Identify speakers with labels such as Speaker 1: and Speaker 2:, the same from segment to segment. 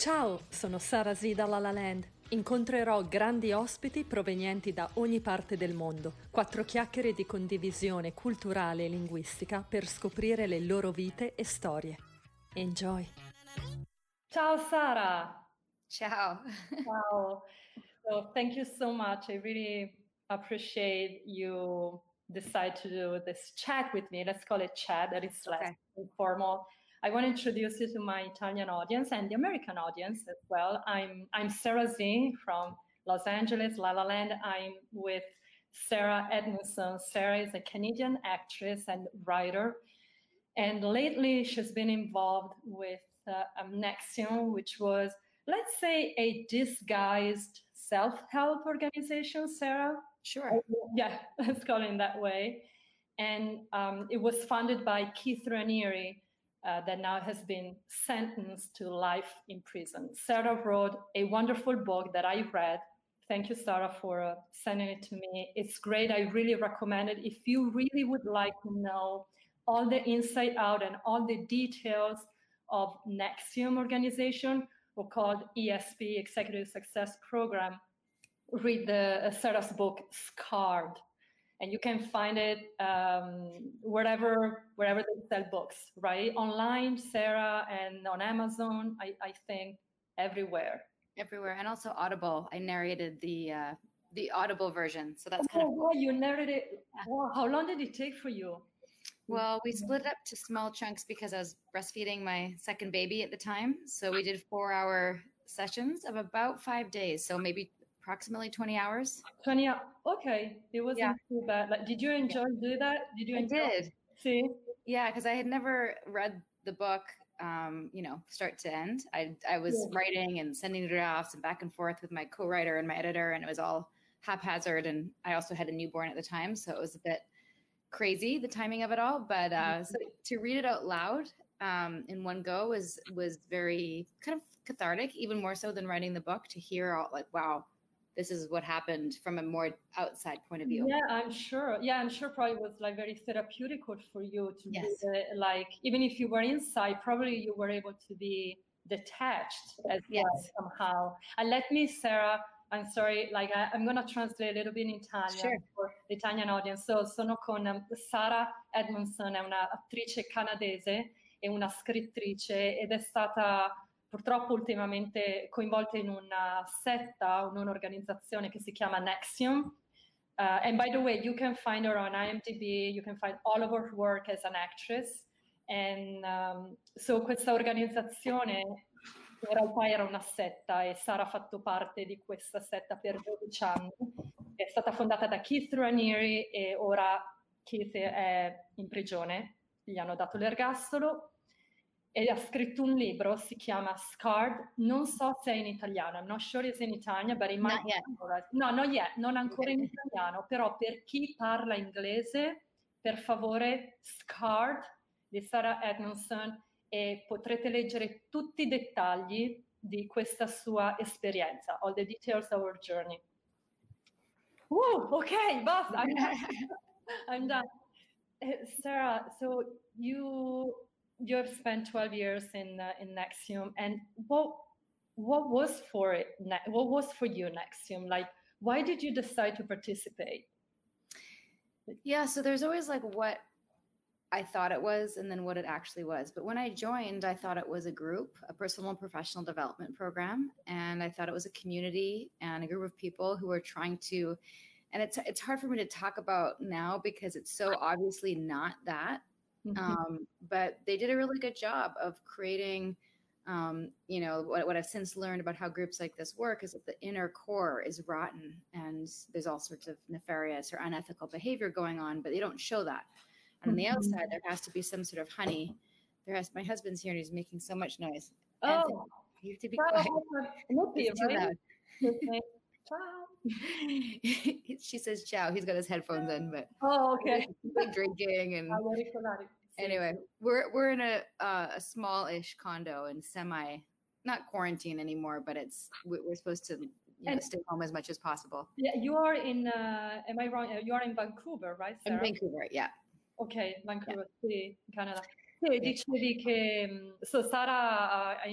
Speaker 1: Ciao, sono Sara Z da La La Land. Incontrerò grandi ospiti provenienti da ogni parte del mondo. 4 chiacchiere di condivisione culturale e linguistica per scoprire le loro vite e storie. Enjoy! Ciao Sara!
Speaker 2: Ciao.
Speaker 1: Ciao! So thank you so much. I really appreciate you decide to do this chat with me. Let's call it chat, that is less informal. I want to introduce you to my Italian audience and the American audience as well. I'm Sarah Zing from Los Angeles, La La Land. I'm with Sarah Edmondson. Sarah is a Canadian actress and writer. And lately she's been involved with NXIVM, which was, let's say, a disguised self-help organization, Sarah?
Speaker 2: Sure.
Speaker 1: Yeah, let's call it that way. And it was founded by Keith Raniere, that now has been sentenced to life in prison. Sarah wrote a wonderful book that I read. Thank you, Sarah, for sending it to me. It's great. I really recommend it. If you really would like to know all the inside out and all the details of NXIVM organization, or called ESP, Executive Success Program, read Sarah's book, Scarred. And you can find it wherever they sell books, right? Online, Sarah, and on Amazon, I think everywhere.
Speaker 2: Everywhere, and also Audible. I narrated the Audible version, so that's kind of
Speaker 1: cool. You narrated. Wow, how long did it take for you?
Speaker 2: Well, we split it up to small chunks because I was breastfeeding my second baby at the time. So we did 4-hour sessions of about 5 days, so maybe approximately 20 hours.
Speaker 1: 20 hours. Okay, it wasn't too bad. Like, did you enjoy doing that?
Speaker 2: I did.
Speaker 1: See?
Speaker 2: Yeah, because I had never read the book, start to end. I was writing and sending drafts and back and forth with my co-writer and my editor, and it was all haphazard. And I also had a newborn at the time, so it was a bit crazy, the timing of it all. But so to read it out loud in one go was very kind of cathartic, even more so than writing the book, to hear all like, wow, this is what happened from a more outside point of view.
Speaker 1: Yeah, I'm sure. Probably was like very therapeutic for you to read it. Like, even if you were inside, probably you were able to be detached as well somehow. And let me, Sarah, I'm sorry, like I'm going to translate a little bit in Italian for the Italian audience. So sono con Sara Edmondson, è un'attrice canadese e una scrittrice, ed è stata purtroppo ultimamente coinvolta in una setta, un'organizzazione che si chiama NXIVM. And by the way, you can find her on IMDb, you can find all of her work as an actress. And so questa organizzazione in realtà era una setta, e Sara ha fatto parte di questa setta per 12 anni. È stata fondata da Keith Raniere e ora Keith è in prigione, gli hanno dato l'ergastolo. E ha scritto un libro, si chiama Scarred. Non so se è in italiano, I'm not sure it's in Italian, but it might be. No, not yet, non ancora in italiano, però per chi parla inglese, per favore, Scarred di Sarah Edmondson, e potrete leggere tutti i dettagli di questa sua esperienza, all the details of our journey. Ok, basta, I'm done. Sarah, so you have spent 12 years in NXIVM, and what was for you NXIVM? Like, why did you decide to participate?
Speaker 2: Yeah, so there's always like what I thought it was and then what it actually was. But when I joined, I thought it was a group, a personal and professional development program, and I thought it was a community and a group of people who were trying to, and it's hard for me to talk about now because it's so obviously not that. But they did a really good job of creating, what I've since learned about how groups like this work is that the inner core is rotten and there's all sorts of nefarious or unethical behavior going on, but they don't show that. And on the outside, there has to be some sort of honey. My husband's here and he's making so much noise.
Speaker 1: Oh,
Speaker 2: you have to be quiet. It's too loud.
Speaker 1: Ciao.
Speaker 2: She says ciao. He's got his headphones in, but
Speaker 1: okay.
Speaker 2: Like drinking and anyway, we're in a small-ish condo and not quarantine anymore, but we're supposed to stay home as much as possible.
Speaker 1: Yeah, you are in. Am I wrong? You are in Vancouver, right, Sarah?
Speaker 2: In Vancouver, yeah.
Speaker 1: Ok, Vancouver, sì, in Canada. Sì, dicevi che Sara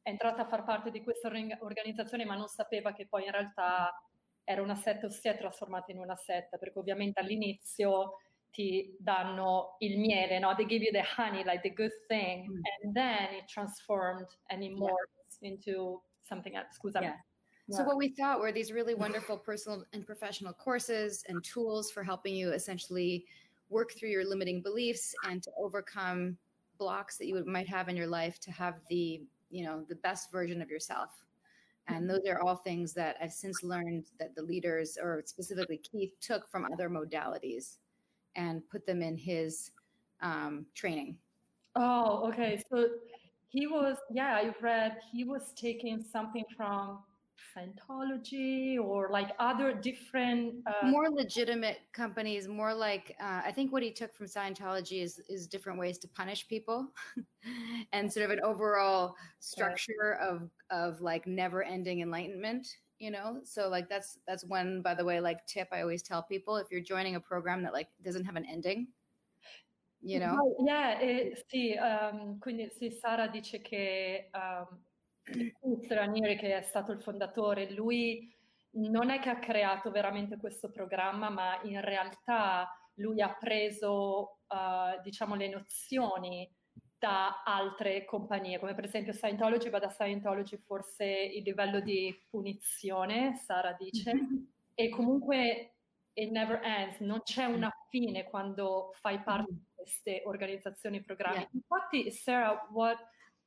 Speaker 1: è entrata a far parte di questa organizzazione, ma non sapeva che poi in realtà era una setta o si è trasformata in una setta, perché ovviamente all'inizio ti danno il miele, no? They give you the honey, like the good thing, and then it transformed and it morphs into something else. Scusami.
Speaker 2: Yeah. So what we thought were these really wonderful personal and professional courses and tools for helping you essentially work through your limiting beliefs and to overcome blocks that you might have in your life to have the, you know, the best version of yourself. And those are all things that I've since learned that the leaders, or specifically Keith, took from other modalities and put them in his training.
Speaker 1: Oh, okay. So he was, yeah, I read he was taking something from Scientology or like other different
Speaker 2: more legitimate companies, more like I think what he took from Scientology is different ways to punish people and sort of an overall structure of like never ending enlightenment, you know. So like that's one, by the way, like tip I always tell people: if you're joining a program that like doesn't have an ending, you know.
Speaker 1: Yeah, sì, quindi sì, Sara dice che Ranieri, che è stato il fondatore, lui non è che ha creato veramente questo programma, ma in realtà lui ha preso, diciamo, le nozioni da altre compagnie, come per esempio Scientology, ma da Scientology forse il livello di punizione, Sara dice, e comunque it never ends, non c'è una fine quando fai parte di queste organizzazioni e programmi.
Speaker 2: Yeah.
Speaker 1: Infatti, Sarah, what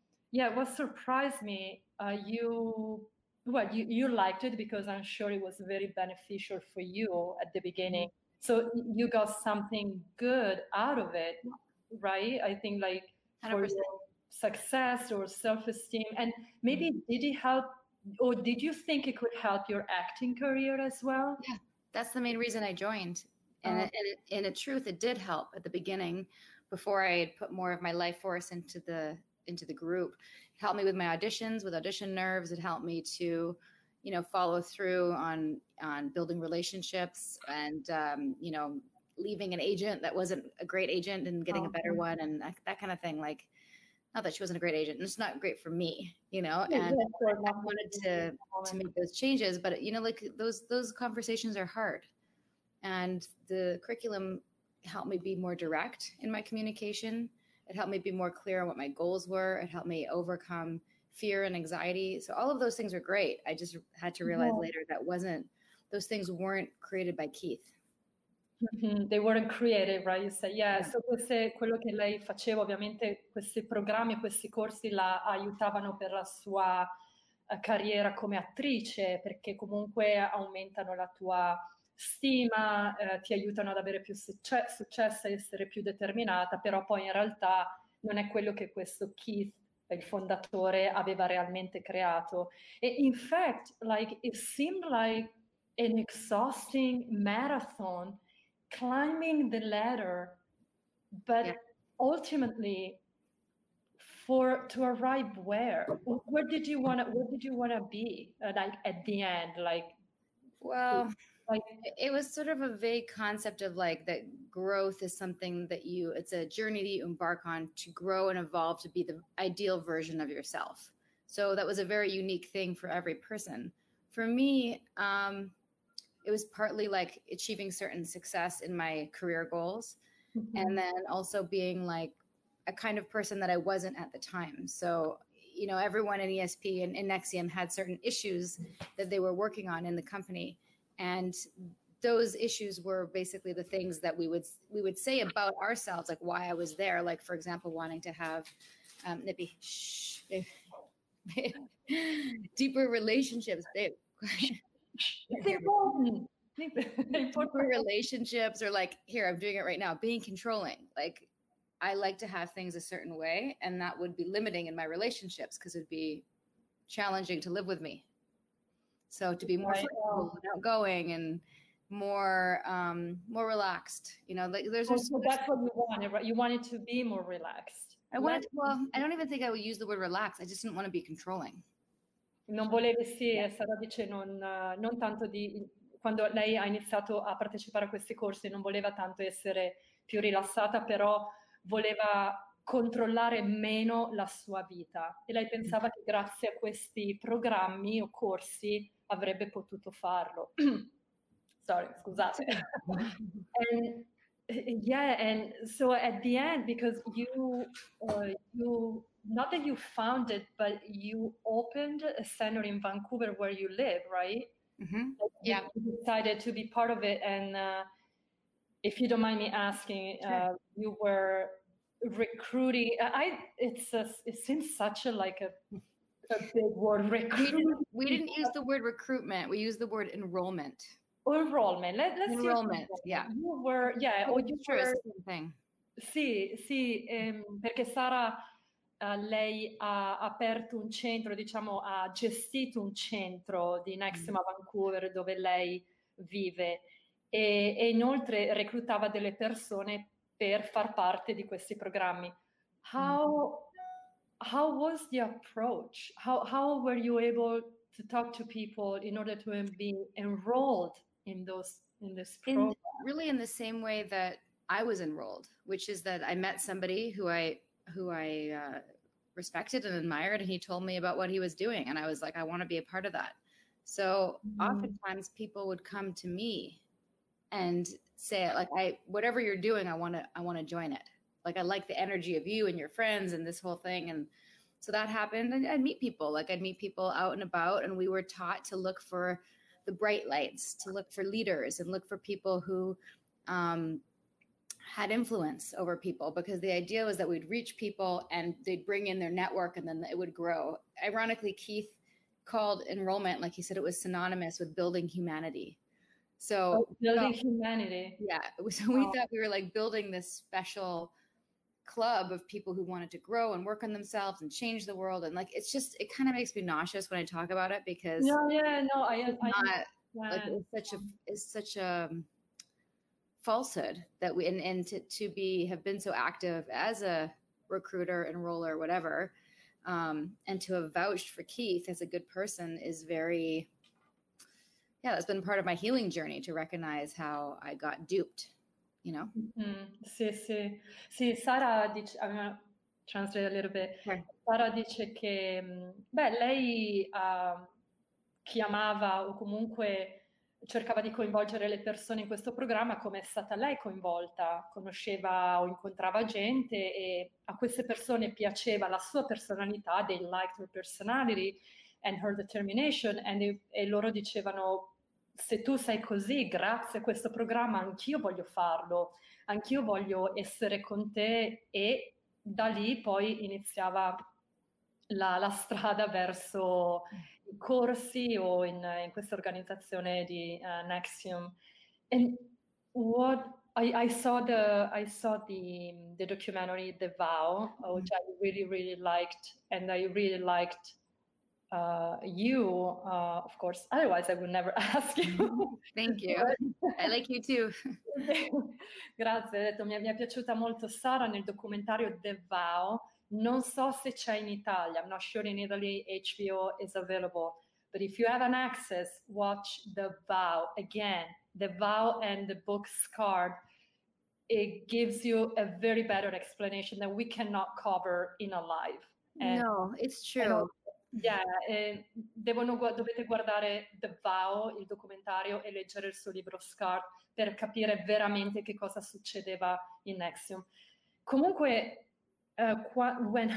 Speaker 1: surprised me, you liked it because I'm sure it was very beneficial for you at the beginning. So you got something good out of it, right? I think like 100%. For your success or self-esteem. And maybe did it help, or did you think it could help your acting career as well?
Speaker 2: Yeah, that's the main reason I joined. And in truth, it did help at the beginning before I had put more of my life force into the group. It helped me with my auditions, with audition nerves. It helped me to, you know, follow through on building relationships and, you know, leaving an agent that wasn't a great agent and getting a better one and that kind of thing. Like, not that she wasn't a great agent, it's not great for me, you know, and I wanted to make those changes, but you know, like those conversations are hard. And the curriculum helped me be more direct in my communication. It helped me be more clear on what my goals were. It helped me overcome fear and anxiety. So all of those things are great. I just had to realize later those things weren't created by Keith.
Speaker 1: They weren't created, right? You say, yeah. So quello che lei faceva, ovviamente questi programmi, questi corsi la aiutavano per la sua carriera come attrice, perché comunque aumentano la tua stima, ti aiutano ad avere più successo, a essere più determinata, però poi in realtà non è quello che questo Keith, il fondatore, aveva realmente creato. E in fact, like, it seemed like an exhausting marathon, climbing the ladder, but ultimately to arrive where did you want to be like at the end? Like,
Speaker 2: well, like it was sort of a vague concept of like that growth is something that it's a journey that you embark on to grow and evolve to be the ideal version of yourself. So that was a very unique thing for every person. For me, it was partly like achieving certain success in my career goals, and then also being like a kind of person that I wasn't at the time. So, you know, everyone in ESP and in NXIVM had certain issues that they were working on in the company. And those issues were basically the things that we would say about ourselves, like why I was there. Like, for example, wanting to have deeper relationships. Deeper relationships, or like, here, I'm doing it right now, being controlling. Like, I like to have things a certain way, and that would be limiting in my relationships because it'd be challenging to live with me. So to be more flexible and outgoing and more relaxed, you know, like
Speaker 1: that's what you wanted, right? You wanted to be more relaxed.
Speaker 2: I don't even think I would use the word relax. I just didn't want to be controlling.
Speaker 1: Non volevi, sì, Sara dice non tanto quando lei ha iniziato a partecipare a questi corsi non voleva tanto essere più rilassata, però voleva controllare meno la sua vita e lei pensava che grazie a questi programmi o corsi avrebbe potuto farlo. Sorry, scusate. And yeah, and so at the end, because you not that you founded, but you opened a center in Vancouver where you live, right?
Speaker 2: Like
Speaker 1: yeah, you decided to be part of it, and if you don't mind me asking, sure. You were recruiting. It seems such a big word. Recruiting.
Speaker 2: We didn't use the word recruitment. We used the word enrollment.
Speaker 1: Enrollment. Let's
Speaker 2: enrollment. Yeah.
Speaker 1: You were, yeah.
Speaker 2: Or you were. Thing.
Speaker 1: Sì, perché Sara, lei ha aperto un centro, diciamo, ha gestito un centro di Nexium a Vancouver dove lei vive e inoltre reclutava delle persone per far parte di questi programmi. How was the approach? How were you able to talk to people in order to be enrolled in this program?
Speaker 2: Really in the same way that I was enrolled, which is that I met somebody who I respected and admired, and he told me about what he was doing, and I was like, I want to be a part of that. So oftentimes people would come to me and say, like, whatever you're doing, I want to join it. Like, I like the energy of you and your friends and this whole thing. And so that happened, and I'd meet people out and about, and we were taught to look for the bright lights, to look for leaders and look for people who had influence over people, because the idea was that we'd reach people and they'd bring in their network and then it would grow. Ironically, Keith called enrollment, like he said, it was synonymous with building humanity. So
Speaker 1: building humanity.
Speaker 2: Yeah. So we thought we were like building this special club of people who wanted to grow and work on themselves and change the world. And like, it kind of makes me nauseous when I talk about it, because it's such a falsehood that we, and to have been so active as a recruiter, enroller, whatever, and to have vouched for Keith as a good person is very, that's been part of my healing journey, to recognize how I got duped, you know?
Speaker 1: Sì, Sara dice, I'm going to translate a little bit. Right. Sara dice che, lei chiamava o comunque cercava di coinvolgere le persone in questo programma come è stata lei coinvolta, conosceva o incontrava gente e a queste persone piaceva la sua personalità, they liked her personality and her determination, e loro dicevano, se tu sei così, grazie a questo programma anch'io voglio farlo, anch'io voglio essere con te, e da lì poi iniziava la strada verso i corsi o in questa organizzazione di Nexium. And what I saw the documentary The Vow, which I really, really liked, and I really liked you, of course, otherwise I would never ask you.
Speaker 2: Thank you. I like you too.
Speaker 1: Grazie, ho detto, mi è piaciuta molto Sara nel documentario The Vow. Non so se c'è in Italia. I'm not sure in Italy HBO is available. But if you have an access, watch The Vow. Again, The Vow and the book Scarred. It gives you a very better explanation that we cannot cover in a live.
Speaker 2: No, it's true.
Speaker 1: Dovete guardare The Vow, il documentario, e leggere il suo libro Scarred per capire veramente che cosa succedeva in Nexium. Comunque, when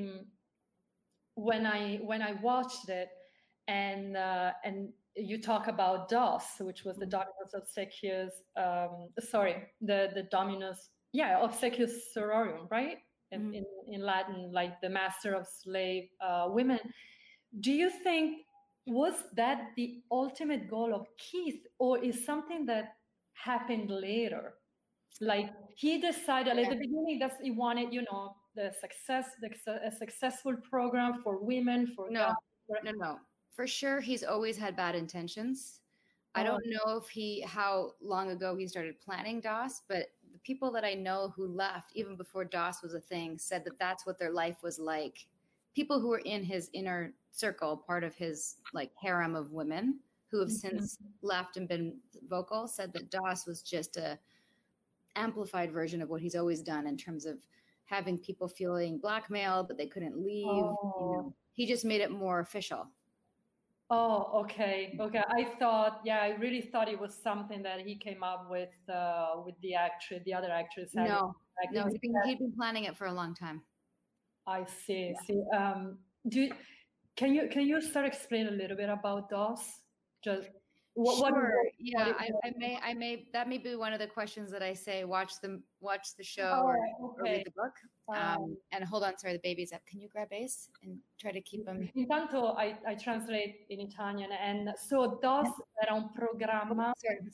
Speaker 1: I watched it, and you talk about DOS, which was the Dominus Obsequious, the Dominus, Obsequious Sororium, right? In Latin, like the master of slave women. Do you think, was that the ultimate goal of Keith, or is something that happened later? Like, he decided at the beginning that he wanted, a successful program for women, for
Speaker 2: No. For sure, he's always had bad intentions. I don't know how long ago he started planning DOS, but the people that I know who left even before DOS was a thing said that that's what their life was like. People who were in his inner circle, part of his like harem of women who have since left and been vocal, said that DOS was just a amplified version of what he's always done in terms of having people feeling blackmailed, but they couldn't leave. He just made it more official.
Speaker 1: Oh, okay. I really thought it was something that he came up with the other actress.
Speaker 2: No, he'd been planning it for a long time.
Speaker 1: I see. See, can you start explaining a little bit about DOS?
Speaker 2: Sure. I may. That may be one of the questions that I say. Watch the show or read the book. And hold on, sorry, the baby's up. Can you grab Ace and try to keep him?
Speaker 1: Intanto I translate in Italian, and so DOS era un programma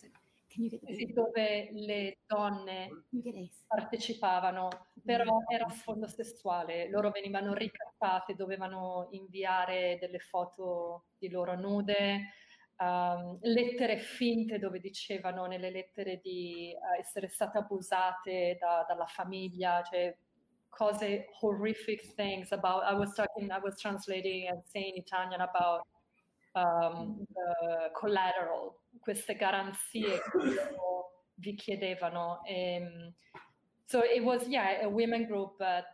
Speaker 1: dove le donne partecipavano, però era a sfondo sessuale. Loro venivano ricattate, dovevano inviare delle foto di loro nude. Lettere finte dove dicevano nelle lettere di essere state abusate dalla famiglia, cioè cose horrific things about. I was translating and saying in Italian about the collateral, queste garanzie che vi chiedevano. So it was a women group, but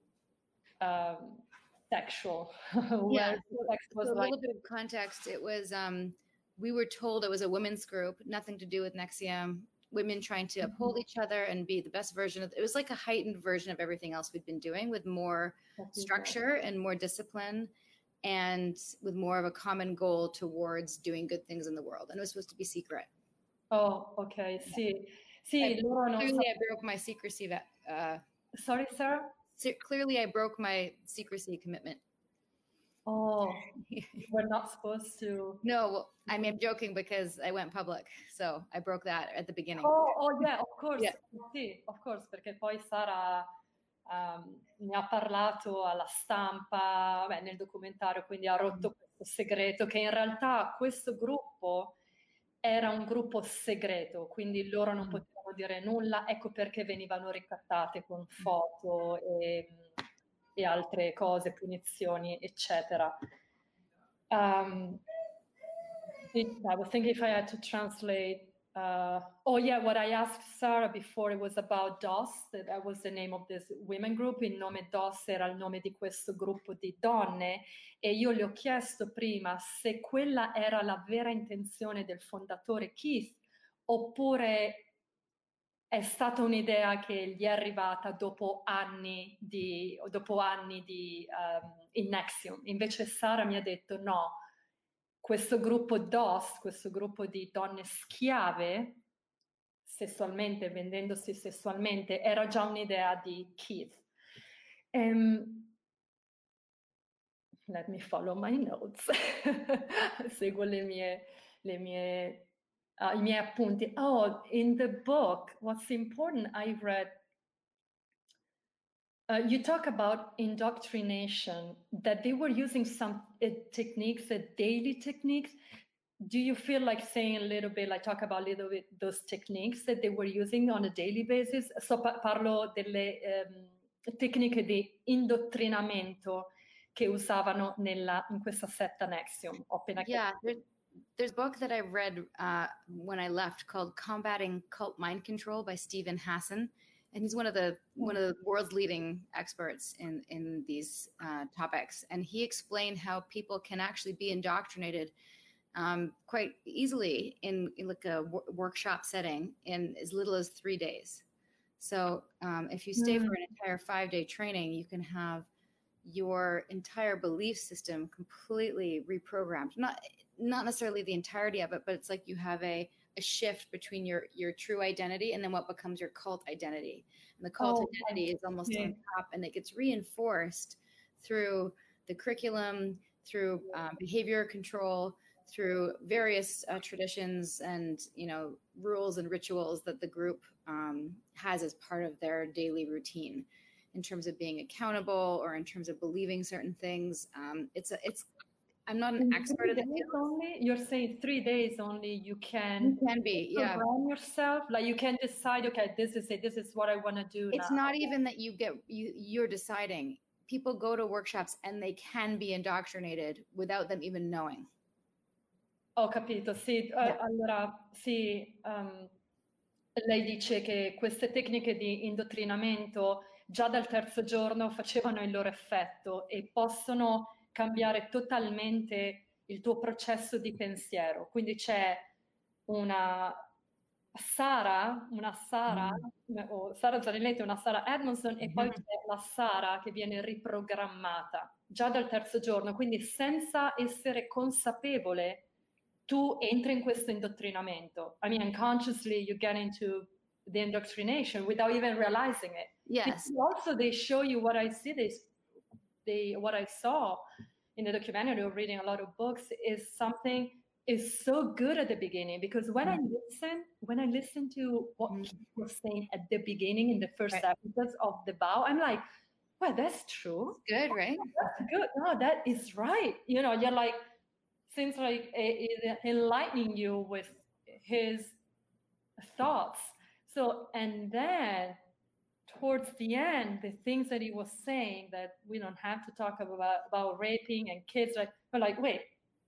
Speaker 1: sexual.
Speaker 2: Yeah. So a little bit of context. It was we were told it was a women's group, nothing to do with NXIVM. Women trying to uphold each other and be the best version of it. Was like a heightened version of everything else we'd been doing, with more structure and more discipline, and with more of a common goal towards doing good things in the world. And it was supposed to be secret.
Speaker 1: Oh, okay. See,
Speaker 2: clearly I broke my secrecy.
Speaker 1: Sorry, Sarah?
Speaker 2: Clearly I broke my secrecy commitment.
Speaker 1: Oh, we're not supposed to.
Speaker 2: No, I mean, I'm joking because I went public, so I broke that at the beginning.
Speaker 1: Oh yeah, of course. Yeah. Sì, of course, perché poi Sara ne ha parlato alla stampa, nel documentario, quindi ha rotto questo segreto, che in realtà questo gruppo era un gruppo segreto, quindi loro non potevano dire nulla, ecco perché venivano ricattate con foto e altre cose, punizioni, eccetera. I was thinking if I had to translate. What I asked Sarah before, it was about DOS, that was the name of this women group. Il nome DOS era il nome di questo gruppo di donne, e io le ho chiesto prima se quella era la vera intenzione del fondatore Keith, oppure è stata un'idea che gli è arrivata dopo anni di in NXIVM. Invece Sara mi ha detto no, questo gruppo DOS, questo gruppo di donne schiave, sessualmente, vendendosi sessualmente, era già un'idea di Keith. Let me follow my notes. Seguo i miei appunti. Oh, in the book, what's important, I read, you talk about indoctrination, that they were using some techniques, daily techniques. Do you feel like saying a little bit, like talk about a little bit those techniques that they were using on a daily basis? So parlo delle tecniche di indottrinamento che usavano in questa setta NXIVM.
Speaker 2: Yeah, there's a book that I read when I left called Combating Cult Mind Control by Stephen Hassan. And he's one of the world's leading experts in these topics. And he explained how people can actually be indoctrinated quite easily in like a workshop setting in as little as 3 days. So if you stay for an entire 5-day training, you can have your entire belief system completely reprogrammed. Not necessarily the entirety of it, but it's like you have a shift between your true identity and then what becomes your cult identity. And the cult identity is almost on top, and it gets reinforced through the curriculum, through behavior control, through various traditions and rules and rituals that the group has as part of their daily routine, in terms of being accountable or in terms of believing certain things. I'm not an expert at it.
Speaker 1: You're saying 3 days only. You can
Speaker 2: be,
Speaker 1: program yourself. Like you can decide, okay, this is it. This is what I want to do.
Speaker 2: It's not even that you're deciding. People go to workshops and they can be indoctrinated without them even knowing.
Speaker 1: Ho capito, sì. Allora, sì, lei dice che queste tecniche di indottrinamento già dal terzo giorno facevano il loro effetto e possono cambiare totalmente il tuo processo di pensiero. Quindi c'è una Sara, o Sara Zanetti, una Sara Edmondson, e poi c'è la Sara che viene riprogrammata già dal terzo giorno, quindi senza essere consapevole tu entri in questo indottrinamento. I mean, unconsciously you get into the indoctrination without even realizing it.
Speaker 2: Yes.
Speaker 1: Also, they show you what I see. What I saw in the documentary or reading a lot of books is so good at the beginning, because when I listen to what he was saying at the beginning in the first episodes of The Vow, I'm like, well, that's true.
Speaker 2: It's good, right?
Speaker 1: That's good. No, that is right. You know, you're like, seems like enlightening you with his thoughts. So, and then towards the end, the things that he was saying, that we don't have to talk about raping and kids, we're like, wait,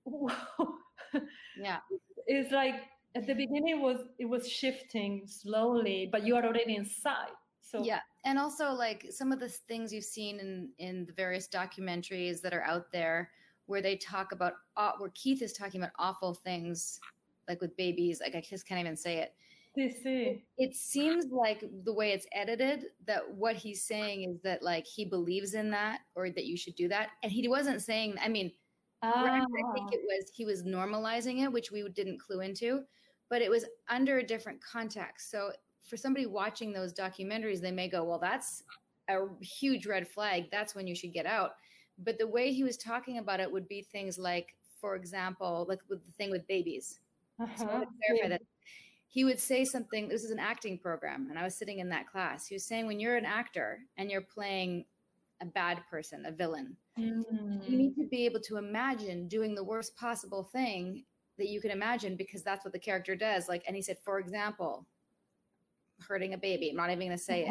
Speaker 2: yeah.
Speaker 1: It's like at the beginning it was shifting slowly, but you are already inside. So
Speaker 2: yeah, and also like some of the things you've seen in the various documentaries that are out there, where they talk about, where Keith is talking about awful things, like with babies, like I just can't even say it. It seems like the way it's edited, that what he's saying is that like he believes in that, or that you should do that. And he wasn't saying, I mean, I think he was normalizing it, which we didn't clue into, but it was under a different context. So for somebody watching those documentaries, they may go, well, that's a huge red flag. That's when you should get out. But the way he was talking about it would be things like, for example, like with the thing with babies. So I want to clarify that. He would say something, this is an acting program, and I was sitting in that class. He was saying, when you're an actor and you're playing a bad person, a villain, you need to be able to imagine doing the worst possible thing that you can imagine, because that's what the character does. Like, and he said, for example, hurting a baby. I'm not even going to say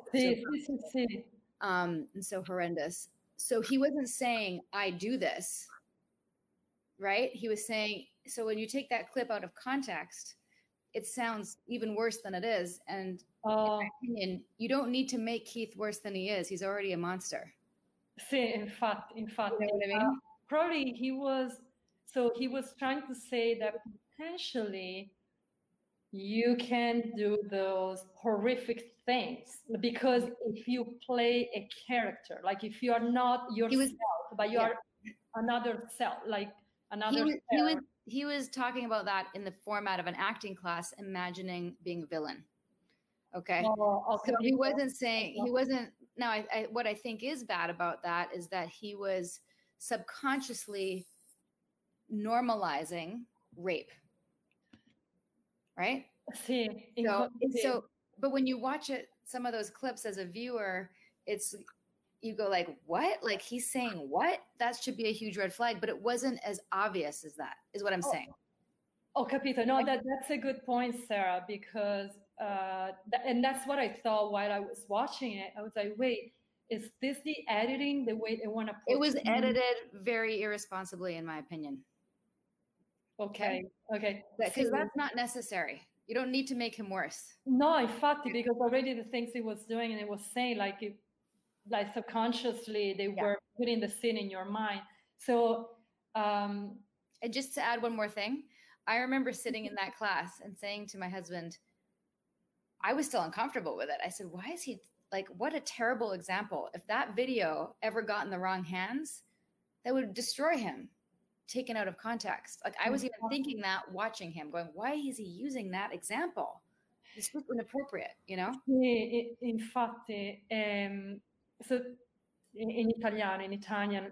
Speaker 2: it. And so horrendous. So he wasn't saying, I do this, right? He was saying, so when you take that clip out of context, it sounds even worse than it is. And in my opinion, you don't need to make Keith worse than he is. He's already a monster.
Speaker 1: Sì, infatti.
Speaker 2: You know what I mean?
Speaker 1: Probably he was trying to say that potentially you can do those horrific things, because if you play a character, like if you are not yourself, but you are another self, like another
Speaker 2: he was talking about that in the format of an acting class, imagining being a villain. Okay. So he wasn't saying, now what I think is bad about that is that he was subconsciously normalizing rape. Right?
Speaker 1: Sí.
Speaker 2: So, but when you watch it, some of those clips as a viewer, you go like, what? Like, he's saying what? That should be a huge red flag, but it wasn't as obvious as that, is what I'm saying.
Speaker 1: Capito. No, that's a good point, Sarah, because, and that's what I thought while I was watching it. I was like, wait, is this the editing, the way they want to put it?
Speaker 2: It was edited very irresponsibly, in my opinion.
Speaker 1: Okay.
Speaker 2: Because that's not necessary. You don't need to make him worse.
Speaker 1: No, infatti, because already the things he was doing, and it was saying like subconsciously they were putting the scene in your mind. So,
Speaker 2: and just to add one more thing, I remember sitting in that class and saying to my husband, I was still uncomfortable with it. I said, why is he like, what a terrible example. If that video ever got in the wrong hands, that would destroy him, taken out of context. Like, I was even thinking that watching him, going, why is he using that example? It's inappropriate, you know?
Speaker 1: Sì, infatti, so in Italian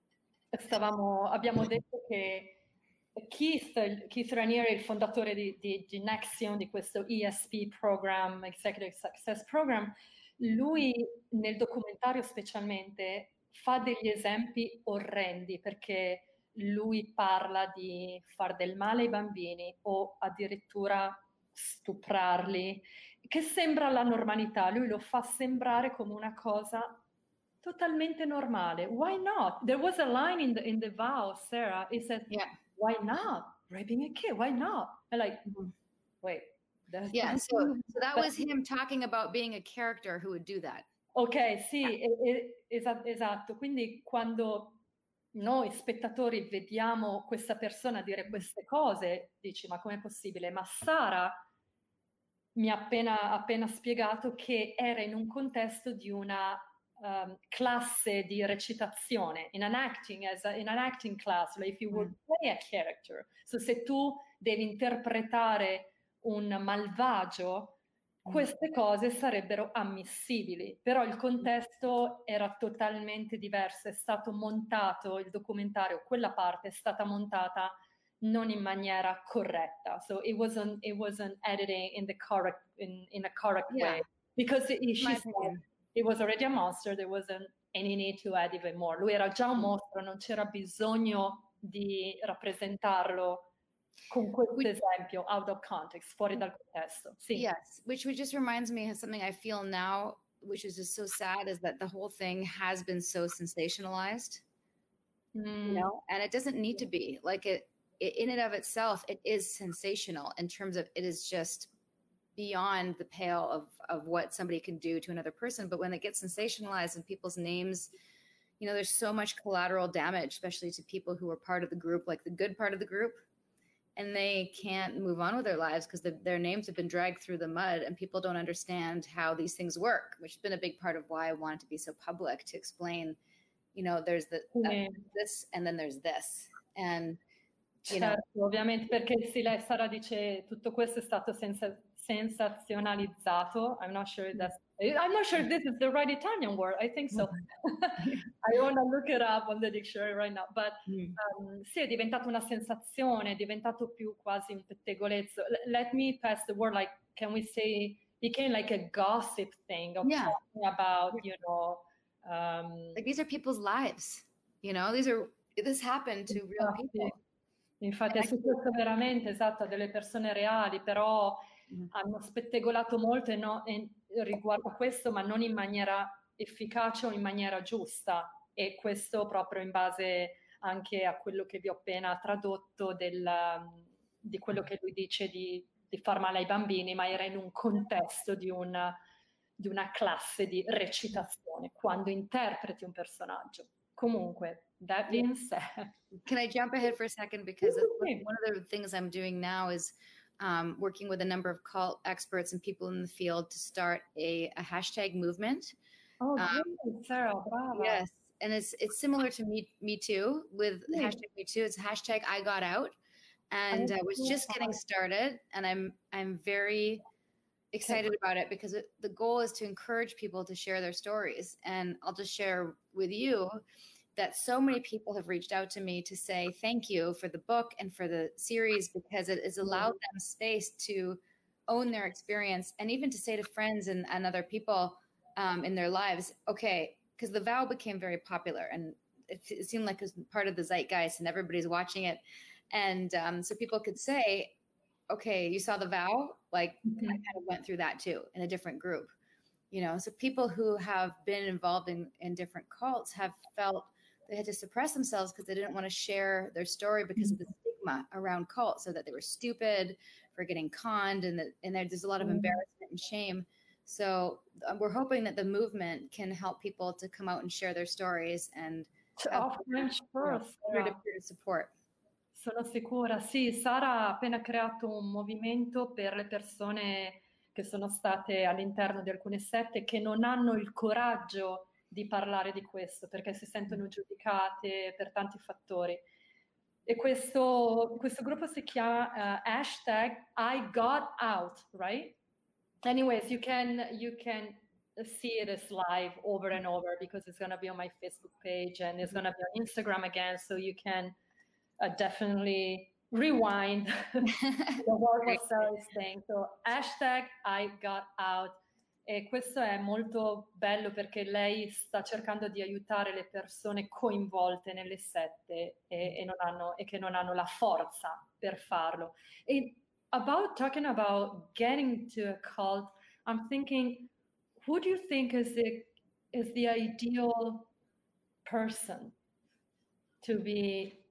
Speaker 1: abbiamo detto che Keith Raniere è il fondatore di Nexion, di questo ESP program, Executive Success Program. Lui nel documentario specialmente fa degli esempi orrendi, perché lui parla di far del male ai bambini o addirittura stuprarli, che sembra la normalità. Lui lo fa sembrare come una cosa totalmente normale. Why not? There was a line in the vow, Sarah. It said, why not? Raping a kid, why not? I'm like, wait.
Speaker 2: So that was him talking about being a character who would do that.
Speaker 1: Ok, sì, esatto. Quindi quando noi spettatori vediamo questa persona dire queste cose, dici, ma com'è possibile? Ma Sara mi ha appena spiegato che era in un contesto di una classe di recitazione, in an acting class, like if you would play a character. So se tu devi interpretare un malvagio, queste cose sarebbero ammissibili, però il contesto era totalmente diverso, è stato montato il documentario, quella parte è stata montata non in maniera corretta. So it wasn't editing in the correct in a correct way because she said it was already a monster, there wasn't any need to add even more. Lui era già un mostro, non c'era bisogno di rappresentarlo con questo esempio out of context, fuori dal contesto. Sì.
Speaker 2: Yes, which just reminds me of something I feel now, which is just so sad, is that the whole thing has been so sensationalized, you know, and it doesn't need to be. Like it in and of itself, it is sensational in terms of it is just beyond the pale of what somebody can do to another person. But when it gets sensationalized and people's names, you know, there's so much collateral damage, especially to people who are part of the group, like the good part of the group, and they can't move on with their lives because their names have been dragged through the mud and people don't understand how these things work, which has been a big part of why I wanted to be so public, to explain, you know, there's this and then there's this. And
Speaker 1: certo, ovviamente, perché sì, lei Sara dice tutto questo è stato sensazionalizzato. I'm not sure if this is the right Italian word. I think so. I want to look it up on the dictionary right now. But sì, è diventato una sensazione, è diventato più quasi un pettegolezzo. Let me pass the word, like, can we say, became like a gossip thing of talking about, you know.
Speaker 2: Like these are people's lives, you know, this happened to real people.
Speaker 1: Infatti è successo veramente, esatto, a delle persone reali, però hanno spettegolato molto riguardo a questo, ma non in maniera efficace o in maniera giusta, e questo proprio in base anche a quello che vi ho appena tradotto di quello che lui dice di far male ai bambini, ma era in un contesto di una classe di recitazione, quando interpreti un personaggio. Comunque, that being said.
Speaker 2: Can I jump ahead for a second? Because one of the things I'm doing now is working with a number of cult experts and people in the field to start a hashtag movement.
Speaker 1: Oh, great, Sarah, brava.
Speaker 2: Yes, and it's similar to Me Too with hashtag Me Too. It's hashtag I Got Out, and I was just getting started, and I'm very excited about it because the goal is to encourage people to share their stories. And I'll just share with you that so many people have reached out to me to say thank you for the book and for the series, because it has allowed them space to own their experience, and even to say to friends and other people in their lives, okay, because The Vow became very popular and it seemed like it was part of the zeitgeist and everybody's watching it. And so people could say, okay, you saw The Vow? Like, I kind of went through that too in a different group, you know? So people who have been involved in different cults have felt they had to suppress themselves because they didn't want to share their story because of the stigma around cults, so that they were stupid for getting conned, and there's a lot of embarrassment and shame. So we're hoping that the movement can help people to come out and share their stories and peer-to-peer support.
Speaker 1: Sono sicura, sì. Sara ha appena creato un movimento per le persone che sono state all'interno di alcune sette che non hanno il coraggio di parlare di questo perché si sentono giudicate per tanti fattori. E questo gruppo si chiama hashtag I Got Out, right? Anyways, you can see it as live over and over because it's going to be on my Facebook page and it's going to be on Instagram again, so you can definitely rewind what Sarah is saying. So hashtag I Got Out. E questo è molto bello perché lei sta cercando di aiutare le persone coinvolte nelle sette e che non hanno la forza per farlo. E talking about getting to a cult, I'm thinking, who do you think is the ideal person to be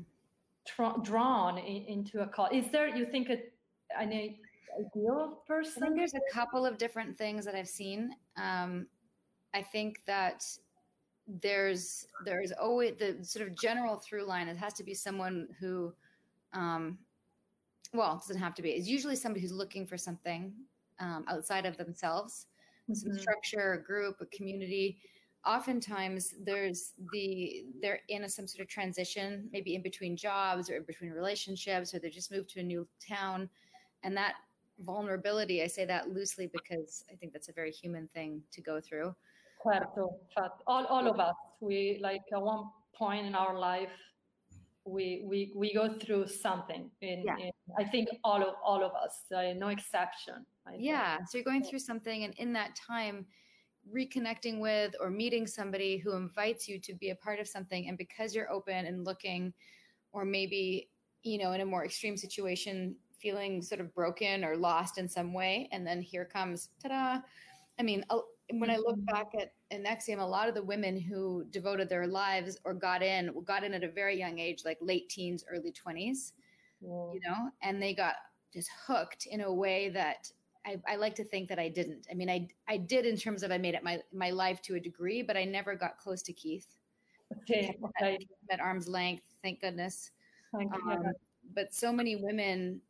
Speaker 1: drawn into a cult? Is there, you think, an ideal person?
Speaker 2: I think there's a couple of different things that I've seen. I think that there's always the sort of general through line. It has to be someone who, well, it doesn't have to be. It's usually somebody who's looking for something outside of themselves, some structure, a group, a community. Oftentimes they're in some sort of transition, maybe in between jobs or in between relationships, or they just moved to a new town. And that vulnerability, I say that loosely because I think that's a very human thing to go through.
Speaker 1: Certo, all of us, we like at one point in our life, we go through something. In I think all of us, no exception.
Speaker 2: So you're going through something, and in that time, reconnecting with or meeting somebody who invites you to be a part of something, and because you're open and looking, or maybe in a more extreme situation, feeling sort of broken or lost in some way, and then here comes ta-da. I mean, when I look back at NXIVM, a lot of the women who devoted their lives or got in at a very young age, like late teens, early 20s, and they got just hooked in a way that I like to think that I didn't. I mean, I did in terms of I made it my life to a degree, but I never got close to Keith.
Speaker 1: Okay.
Speaker 2: At arm's length, thank goodness.
Speaker 1: Thank you.
Speaker 2: But so many women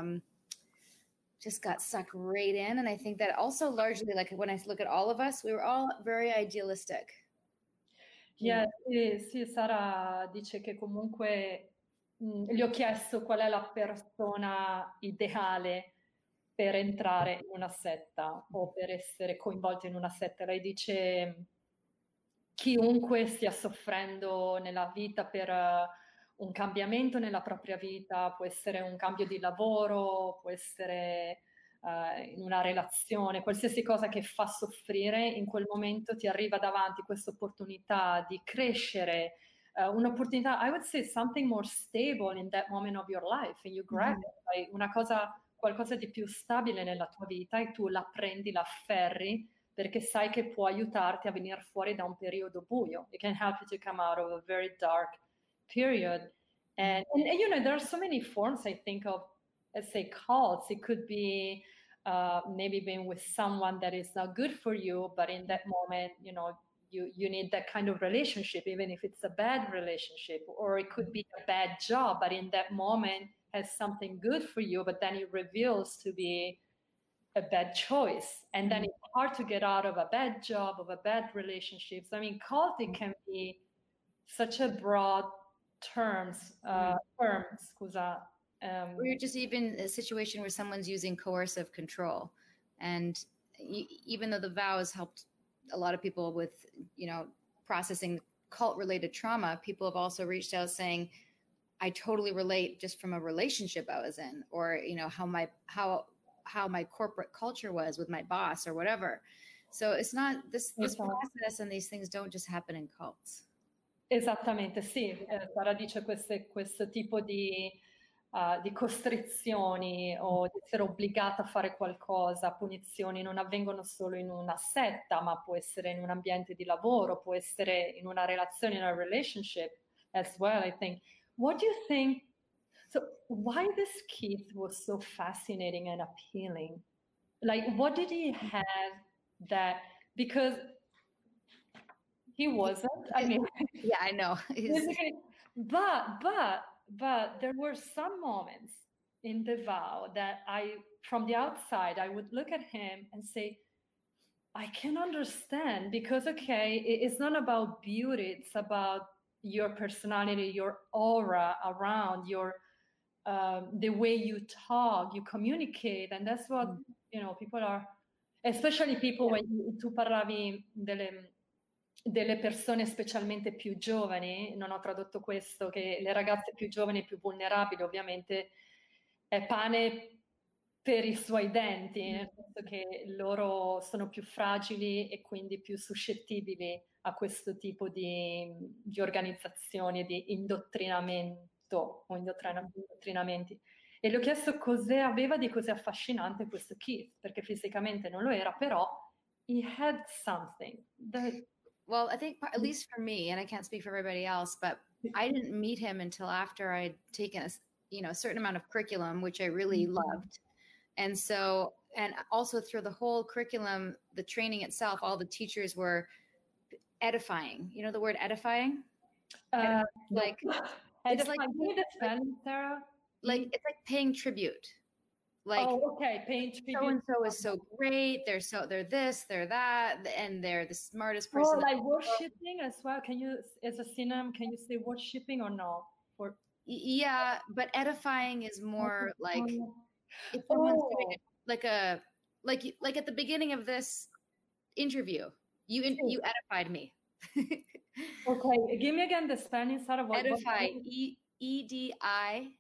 Speaker 2: just got sucked right in. And I think that also largely, like when I look at all of us, we were all very idealistic.
Speaker 1: Yeah, sì, Sara dice che comunque gli ho chiesto qual è la persona ideale per entrare in una setta o per essere coinvolta in una setta. Lei dice chiunque stia soffrendo nella vita per un cambiamento nella propria vita, può essere un cambio di lavoro, può essere in una relazione, qualsiasi cosa che fa soffrire, in quel momento ti arriva davanti questa opportunità di crescere, un'opportunità, I would say something more stable in that moment of your life, and you grab it, qualcosa di più stabile nella tua vita, e tu la prendi, la afferri, perché sai che può aiutarti a venire fuori da un periodo buio. It can help you to come out of a very dark period. And there are so many forms, I think, of, let's say, cults. It could be maybe being with someone that is not good for you, but in that moment, you need that kind of relationship, even if it's a bad relationship. Or it could be a bad job, but in that moment has something good for you, but then it reveals to be a bad choice. And then it's hard to get out of a bad job, of a bad relationship. I mean, culting can be such a broad term, scusa.
Speaker 2: Or you're just even a situation where someone's using coercive control. And even though the vows helped a lot of people with, processing cult-related trauma, people have also reached out saying, I totally relate just from a relationship I was in, or, how my corporate culture was with my boss or whatever. So it's not this process, and these things don't just happen in cults.
Speaker 1: Esattamente, sì. Sara dice questo tipo di costrizioni o di essere obbligata a fare qualcosa, punizioni, non avvengono solo in una setta, ma può essere in un ambiente di lavoro, può essere in una relazione, in a relationship as well, I think. What do you think? So why this Keith was so fascinating and appealing? Like, what did he have that, because he wasn't, I mean.
Speaker 2: Yeah, I know.
Speaker 1: But there were some moments in the vow that from the outside, I would look at him and say, I can understand, because, okay, it's not about beauty. It's about your personality, your aura around, the way you talk, you communicate. And that's what, people are, especially people, when tu parlavi delle persone specialmente più giovani, non ho tradotto questo, che le ragazze più giovani e più vulnerabili ovviamente è pane per i suoi denti, nel senso che loro sono più fragili e quindi più suscettibili a questo tipo di organizzazioni, di indottrinamento o indottrinamenti. E le ho chiesto cosa aveva di così affascinante questo Keith, perché fisicamente non lo era, però he had something that...
Speaker 2: Well, I think at least for me, and I can't speak for everybody else, but I didn't meet him until after I'd taken a certain amount of curriculum, which I really loved. And so And also through the whole curriculum, the training itself, all the teachers were edifying. You know the word edifying?
Speaker 1: Like
Speaker 2: it's like
Speaker 1: Sarah.
Speaker 2: Like it's like paying tribute. Like,
Speaker 1: oh, okay, paying tribute.
Speaker 2: So and so is so great. They're this, they're that, and they're the smartest person.
Speaker 1: Oh, like worshipping as well. Can you, as a synonym, can you say worshipping or no? Or
Speaker 2: yeah, but edifying is more like if someone's doing it, like at the beginning of this interview, you edified me.
Speaker 1: Okay, give me again the spelling.
Speaker 2: Edify. EDIFY.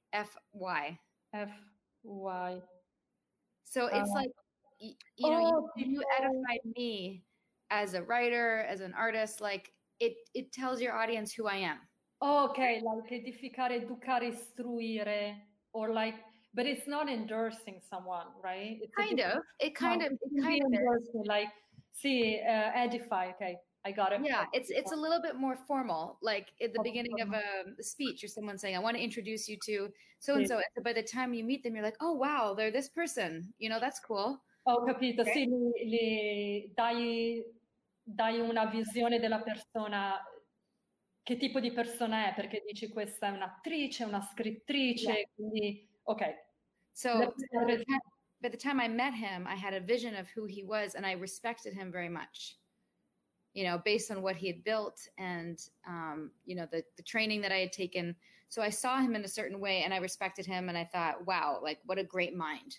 Speaker 1: FY.
Speaker 2: So it's like, you edified me as a writer, as an artist. Like it tells your audience who I am.
Speaker 1: Okay, like edificare, educare, istruire, or like, but it's not endorsing someone, right? It's
Speaker 2: it kind of
Speaker 1: is. Like, see, edify. Okay, I got it.
Speaker 2: Yeah, it's a little bit more formal, like at the beginning of a speech or someone saying, I want to introduce you to so-and-so. And so by the time you meet them, you're like, oh, wow, they're this person. That's cool.
Speaker 1: Ho capito, okay. Sì, dai una visione della persona, che tipo di persona è, perché dici questa è un'attrice, una scrittrice, quindi, ok.
Speaker 2: So by the time I met him, I had a vision of who he was and I respected him very much. Based on what he had built and, the training that I had taken. So I saw him in a certain way and I respected him and I thought, wow, like what a great mind,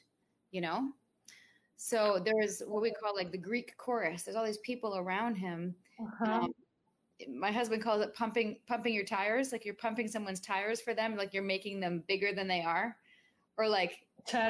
Speaker 2: So there's what we call like the Greek chorus. There's all these people around him. My husband calls it pumping your tires. Like you're pumping someone's tires for them. Like you're making them bigger than they are. Or like,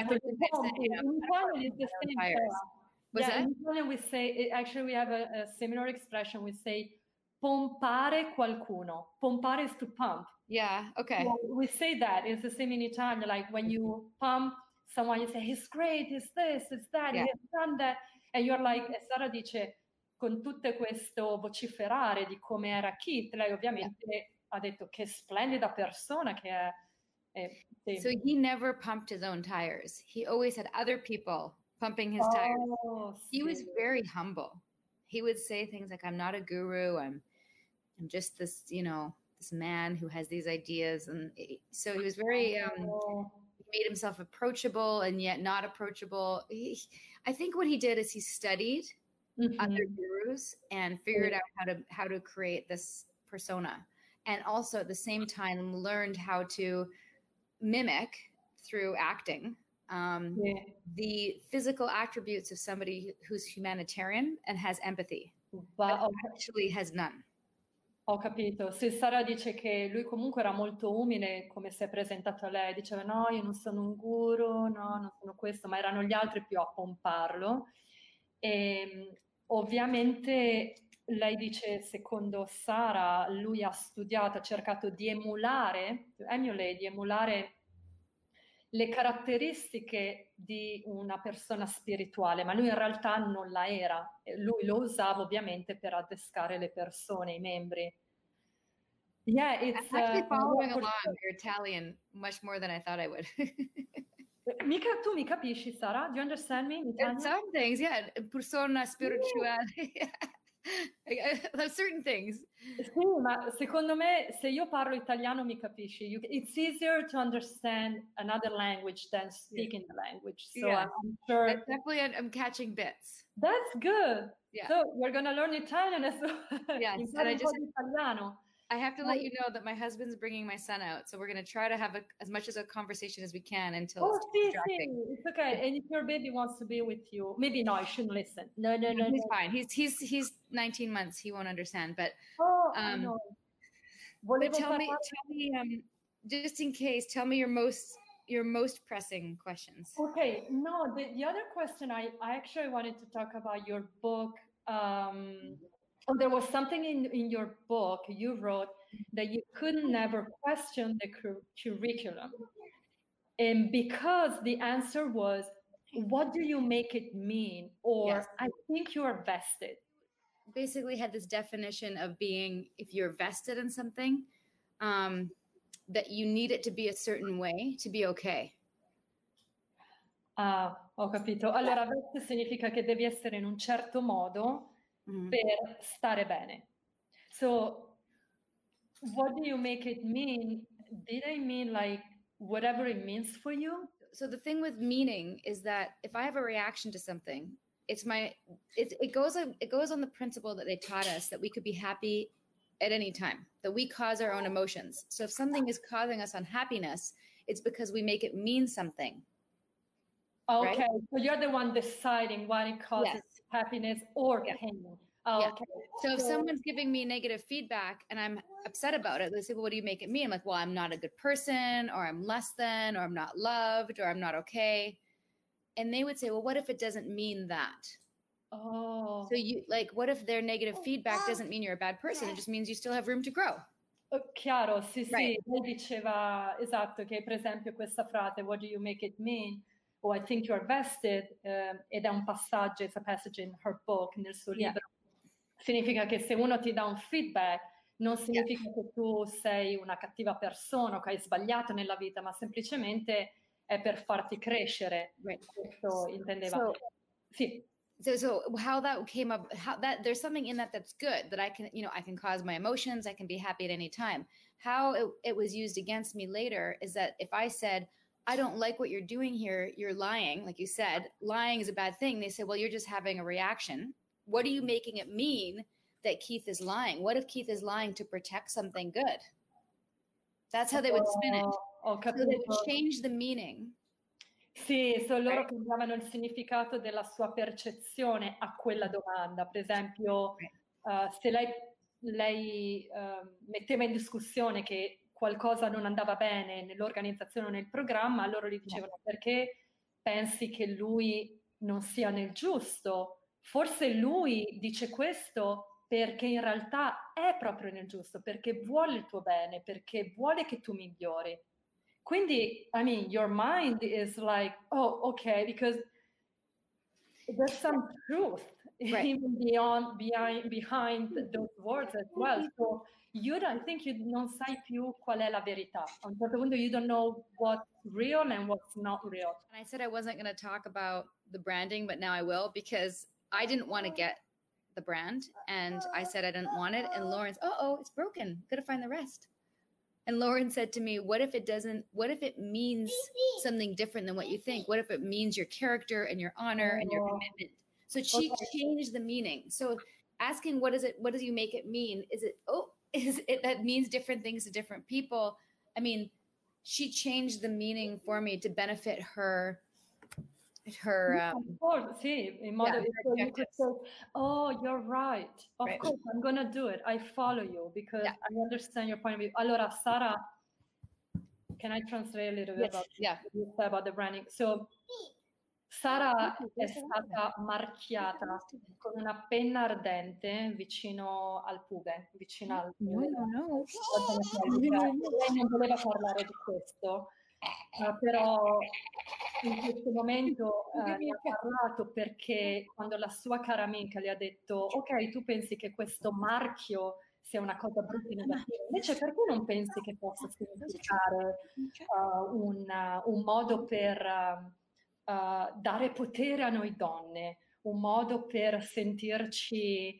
Speaker 1: in Italian we say, actually we have a similar expression. We say pompare qualcuno. Pompare is to pump.
Speaker 2: Yeah, okay.
Speaker 1: So we say that. It's the same in Italian. Like when you pump someone, you say, he's great, he's this, he's that, he has done that. And you're like, e Sara dice, con tutto questo vociferare di come era Keith, lei ovviamente ha detto che splendida persona che è.
Speaker 2: So he never pumped his own tires. He always had other people pumping his tires. He was very humble. He would say things like, I'm not a guru. I'm just this, this man who has these ideas. And so he was very, he made himself approachable and yet not approachable. I think what he did is he studied other gurus and figured out how to create this persona. And also at the same time learned how to mimic through acting the physical attributes of somebody who's humanitarian and has empathy, but actually has none.
Speaker 1: Ho capito. Sì, Sara dice che lui comunque era molto umile, come si è presentato a lei. Diceva, no, io non sono un guru, no, non sono questo, ma erano gli altri più a pomparlo. E ovviamente lei dice, secondo Sara, lui ha studiato, ha cercato di emulare le caratteristiche di una persona spirituale, ma lui in realtà non la era. Lui lo usava ovviamente per adescare le persone, i membri.
Speaker 2: Yeah, it's actually following along your Italian much more than I thought I would.
Speaker 1: Tu mi capisci, Sara? Do you understand me?
Speaker 2: Some things, yeah. Persona spirituale. Certain things.
Speaker 1: Sì, ma secondo me se io parlo italiano mi capisci. It's easier to understand another language than speaking the language. So I'm sure.
Speaker 2: Definitely I'm catching bits.
Speaker 1: That's good. Yeah. So we're going to learn Italian as well.
Speaker 2: Yes, and I have to let you know that my husband's bringing my son out. So we're going to try to have as much as a conversation as we can until it's distracting.
Speaker 1: It's okay. And if your baby wants to be with you, maybe no, I shouldn't listen. No.
Speaker 2: He's fine. He's 19 months. He won't understand. But
Speaker 1: no.
Speaker 2: But tell me, just in case, tell me your most pressing questions.
Speaker 1: Okay. No, the other question I actually wanted to talk about your book. There was something in your book you wrote that you could never question the curriculum. And because the answer was, what do you make it mean? Or I think you are vested.
Speaker 2: Basically had this definition of being, if you're vested in something, that you need it to be a certain way to be okay.
Speaker 1: Ah, ho capito. Allora, veste significa che devi essere in un certo modo per stare bene. So, what do you make it mean? Did I mean like whatever it means for you?
Speaker 2: So the thing with meaning is that if I have a reaction to something, it goes on the principle that they taught us that we could be happy at any time, that we cause our own emotions. So if something is causing us unhappiness, it's because we make it mean something.
Speaker 1: Okay, right? So you're the one deciding what it causes happiness or pain. Oh, okay.
Speaker 2: So if someone's giving me negative feedback and I'm upset about it, they say, well, what do you make it mean? I'm like, well, I'm not a good person, or I'm less than, or I'm not loved, or I'm not okay. And they would say, well, what if it doesn't mean that?
Speaker 1: Oh.
Speaker 2: So you like, what if their negative feedback doesn't mean you're a bad person? It just means you still have room to grow.
Speaker 1: Chiaro, sì, right. Sì. Lei diceva, esatto, che per esempio questa frase, what do you make it mean? Or I think you're vested, ed è un passaggio, it's a passage in her book, nel suo libro. Significa che se uno ti dà un feedback, non significa che tu sei una cattiva persona o che hai sbagliato nella vita, ma semplicemente è per farti crescere.
Speaker 2: Right.
Speaker 1: Questo intendeva. Sì.
Speaker 2: So how that came up, how that there's something in that that's good, that I can, I can cause my emotions, I can be happy at any time. How it was used against me later is that if I said, I don't like what you're doing here, you're lying, like you said, lying is a bad thing. They said, well, you're just having a reaction. What are you making it mean that Keith is lying? What if Keith is lying to protect something good? That's how they would spin it. So they would change the meaning.
Speaker 1: Sì, loro cambiavano il significato della sua percezione a quella domanda. Per esempio, se lei metteva in discussione che qualcosa non andava bene nell'organizzazione o nel programma, loro gli dicevano perché pensi che lui non sia nel giusto? Forse lui dice questo perché in realtà è proprio nel giusto, perché vuole il tuo bene, perché vuole che tu migliori. Quindi, I mean, your mind is like, oh, okay, because there's some truth even behind those words as well. So I think you non sai più qual è la verità. A un certo punto you don't know what's real and what's not real.
Speaker 2: And I said I wasn't going to talk about the branding, but now I will, because I didn't want to get the brand, and I said I didn't want it, and Lauren's, it's broken, gotta find the rest. And Lauren said to me, what if it means something different than what you think? What if it means your character and your honor and your commitment? So she changed the meaning. So asking, what do you make it mean? Is it that means different things to different people? I mean, she changed the meaning for me to benefit her.
Speaker 1: Of course, sì, in modo so you could say, oh, you're right. Of course, I'm going to do it. I follow you because I understand your point of view. Allora, Sara, can I translate a little bit about the branding? So, Sara è stata marchiata con una penna ardente vicino al pube, vicino al...
Speaker 2: No.
Speaker 1: Lei non voleva parlare di questo. Però in questo momento ne ha parlato perché quando la sua cara amica le ha detto ok, tu pensi che questo marchio sia una cosa brutta e negativa, invece perché non pensi che possa significare un modo per dare potere a noi donne, un modo per sentirci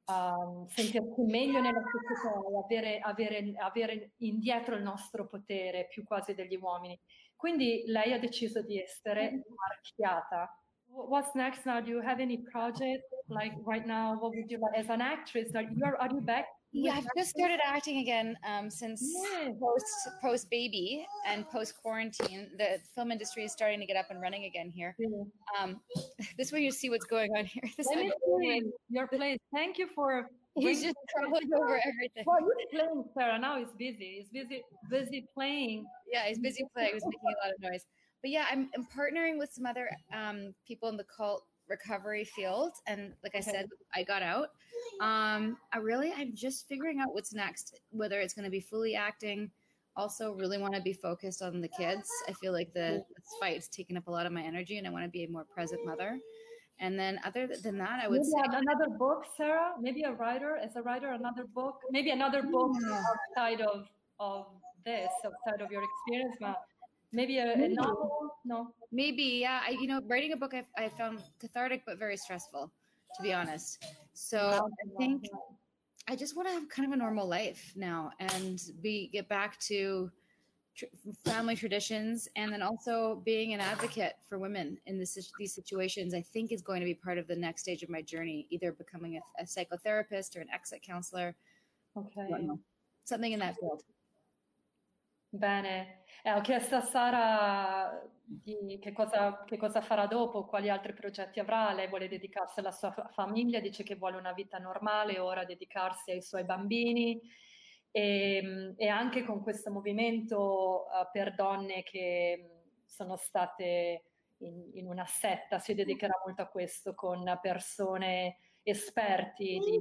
Speaker 1: meglio nella società, avere indietro il nostro potere più quasi degli uomini. Quindi lei ha deciso di essere marchiata. What's next now? Do you have any project like right now? What would you like as an actress? Are you back?
Speaker 2: Yeah, I've just started acting again since post baby and post quarantine. The film industry is starting to get up and running again here. This way you see what's going on here.
Speaker 1: Let me see your place. Thank you for.
Speaker 2: He's just traveling over everything.
Speaker 1: Well, he's playing, Sarah. Now he's busy. He's busy playing.
Speaker 2: Yeah, he's busy playing. He's making a lot of noise. But yeah, I'm partnering with some other people in the cult recovery field, and like I said, I got out. I'm just figuring out what's next, whether it's going to be fully acting. Also really want to be focused on the kids. I feel like this fight's taking up a lot of my energy, and I want to be a more present mother. And then other than that, I would say
Speaker 1: another book, Sarah, maybe another writer, maybe another book outside of this, outside of your experience. Maybe a novel? No.
Speaker 2: Maybe, yeah. Writing a book I found cathartic but very stressful, to be honest. So I think I just want to have kind of a normal life now and get back to family traditions, and then also being an advocate for women in these situations. I think is going to be part of the next stage of my journey, either becoming a psychotherapist or an exit counselor.
Speaker 1: Okay.
Speaker 2: Something in that field.
Speaker 1: Bene, ho chiesto a Sara che cosa farà dopo, quali altri progetti avrà. Lei vuole dedicarsi alla sua famiglia, dice che vuole una vita normale, ora dedicarsi ai suoi bambini e anche con questo movimento per donne che sono state in una setta, si dedicherà molto a questo con persone esperti di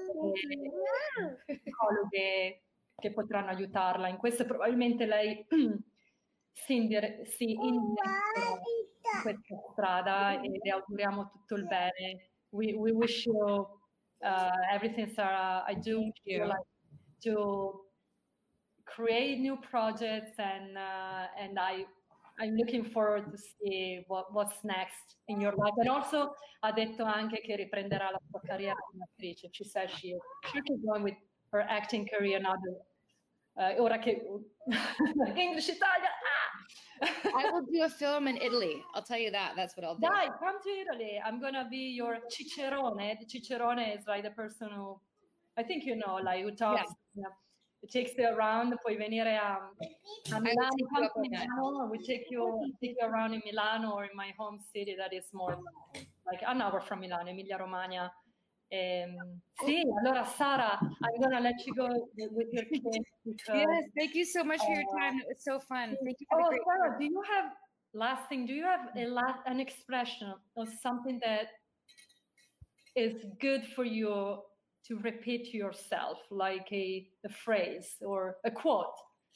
Speaker 1: psicologhe che potranno aiutarla in questo. Probabilmente lei si indirizza in questa strada e le auguriamo tutto il bene. We wish you everything, Sarah. I do like to create new projects and I'm looking forward to see what's next in your life. And also ha detto anche che riprenderà la sua carriera come attrice. She says she'll keep going with her acting career now. Ora che English Italia.
Speaker 2: I will do a film in Italy. I'll tell you that. That's what I'll do.
Speaker 1: Dai, come to Italy. I'm gonna be your cicerone. The cicerone is like the person who, I think you know, like who talks. Yeah. It takes you around. Puoi venire a Milano. Come to Milano. We take you around in Milano or in my home city that is more like an hour from Milano, Emilia Romagna. Sì, allora Sara, I'm gonna let you go with your kids.
Speaker 2: Yes, thank you so much for your time. It was so fun. Thank you for the great
Speaker 1: Sarah, do you have, last thing, do you have an expression or something that is good for you to repeat to yourself, like a phrase or a quote?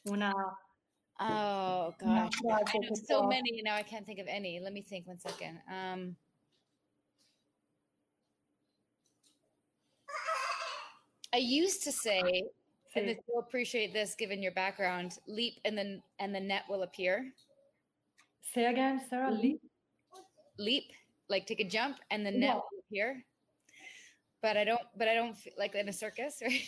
Speaker 2: Oh gosh, I know so many now. I can't think of any. Let me think 1 second. I used to say, and you'll appreciate this given your background, leap and the net will appear.
Speaker 1: Say again, Sarah.
Speaker 2: Leap, like take a jump and the net will appear. But I don't like in a circus, right?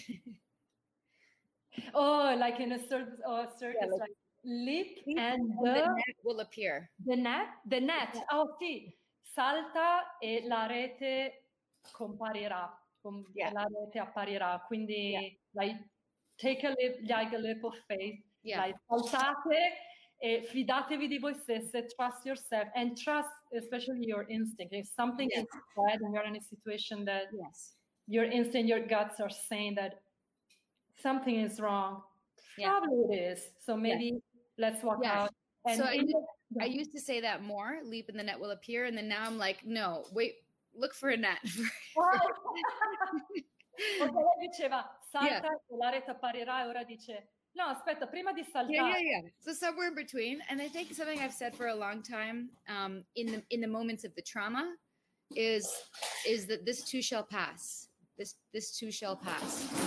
Speaker 1: Oh, like in a circus, like leap and
Speaker 2: the net will appear.
Speaker 1: The net. Oh sì, salta e la rete comparirà. La rete apparirà. Quindi like take a leap of faith. Like saltate e fidatevi di voi stesse, trust yourself and trust especially your instinct. If something is bad and you're in a situation that your instinct, your guts are saying that something is wrong, probably it is. So maybe let's walk out. And
Speaker 2: so I used to say that more, leap and the net will appear. And then now I'm like, no, wait, look for a net.
Speaker 1: Lei diceva salta e la rete apparirà e ora dice no, aspetta, prima di saltare.
Speaker 2: So somewhere in between. And I think something I've said for a long time in the moments of the trauma is that this too shall pass. This too shall pass. And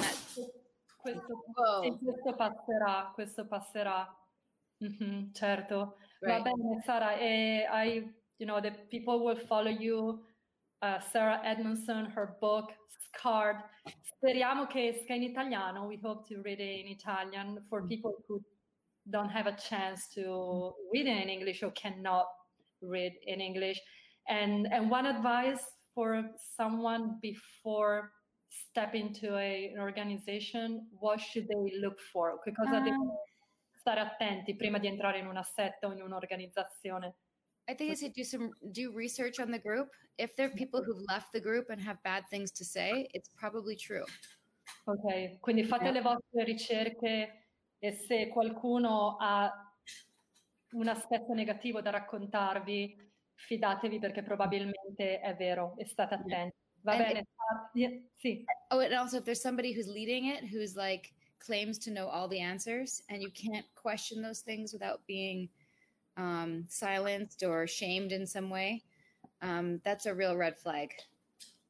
Speaker 1: questo passerà. Mm-hmm, certo.
Speaker 2: Right.
Speaker 1: Va bene, Sara. The people will follow you. Sarah Edmondson, her book, Scarred. Speriamo che esca in italiano. We hope to read it in Italian for people who don't have a chance to read it in English or cannot read in English. And one advice for someone before stepping into an organization, what should they look for? Che cosa devono stare attenti prima di entrare in una setta o in un'organizzazione?
Speaker 2: I think it's do research on the group. If there are people who've left the group and have bad things to say, it's probably true.
Speaker 1: Ok, quindi fate le vostre ricerche e se qualcuno ha un aspetto negativo da raccontarvi, fidatevi perché probabilmente è vero e state attenti. Va bene? Sì.
Speaker 2: Oh, and also if there's somebody who's leading it, who's like claims to know all the answers and you can't question those things without being silenced or shamed in some way, that's a real red flag.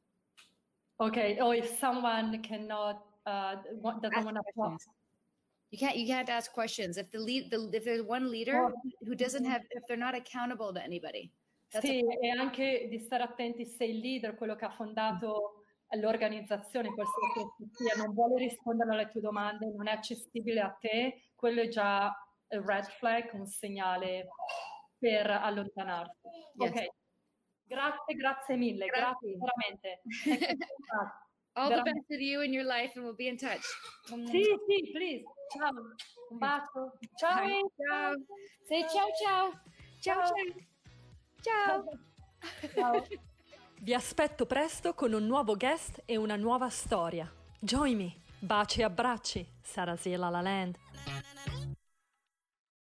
Speaker 2: Okay.
Speaker 1: Or if someone cannot doesn't want to talk,
Speaker 2: You can't ask questions if if there's one leader who doesn't have, if they're not accountable to anybody.
Speaker 1: Sì, e anche di stare attenti se il leader, quello che ha fondato l'organizzazione, qualsiasi sia, non vuole rispondere alle tue domande, non è accessibile a te, quello è già un red flag, un segnale per allontanarsi.
Speaker 2: Yes.
Speaker 1: Ok, grazie mille, grazie veramente.
Speaker 2: All the best of you in your life, and we'll be in touch.
Speaker 1: Sì, please. Ciao, un bacio. Ciao.
Speaker 2: Ciao. Say ciao ciao. Ciao ciao.
Speaker 1: Ciao.
Speaker 3: Vi aspetto presto con un nuovo guest e una nuova storia. Join me. Baci e abbracci. Sarasiela La Land.